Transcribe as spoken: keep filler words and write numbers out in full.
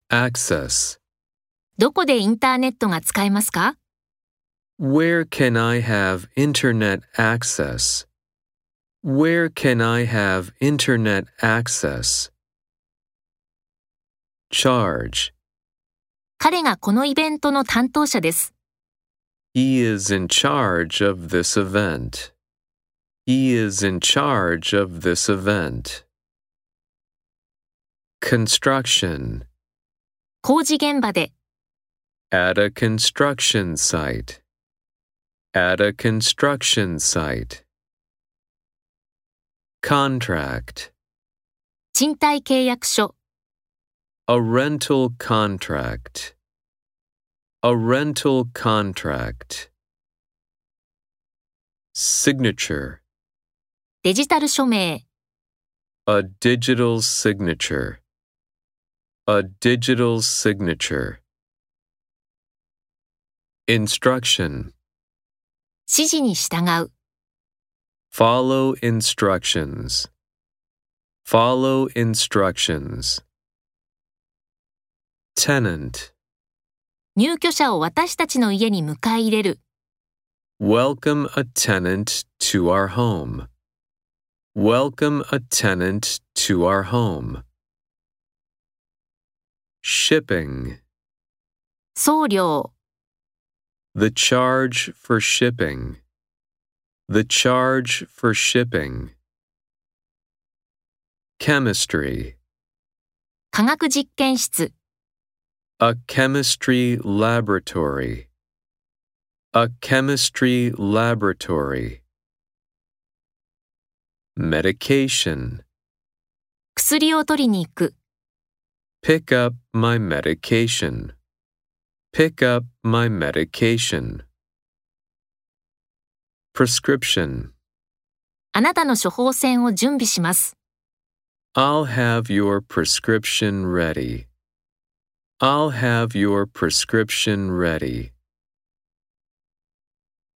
access. どこでインターネットが使えますか？ Where can I have internet access? Where can I have internet access? Charge. 彼がこのイベントの担当者です。 He is in charge of this event. He is in charge of this event. Construction. 工事現場で、 At a construction site. At a construction site. Contract. 賃貸契約書、 A rental contract. A rental contract. Signature. デジタル署名、 A digital signature. A digital signature. Instruction. 指示に従う、 Follow instructions. Follow instructions. Tenant. 入居者を私たちの家に迎え入れる、 Welcome a tenant to our home. Welcome a tenant to our home. Shipping. 送料、 The charge for shipping. The charge for shipping. Chemistry. 化学実験室、 A chemistry laboratory. A chemistry laboratory. Medication. 薬を取りに行く、 Pick up my medication. Pick up my medication. Prescription. あなたの処方箋を準備します。 I'll have your prescription ready. I'll have your prescription ready.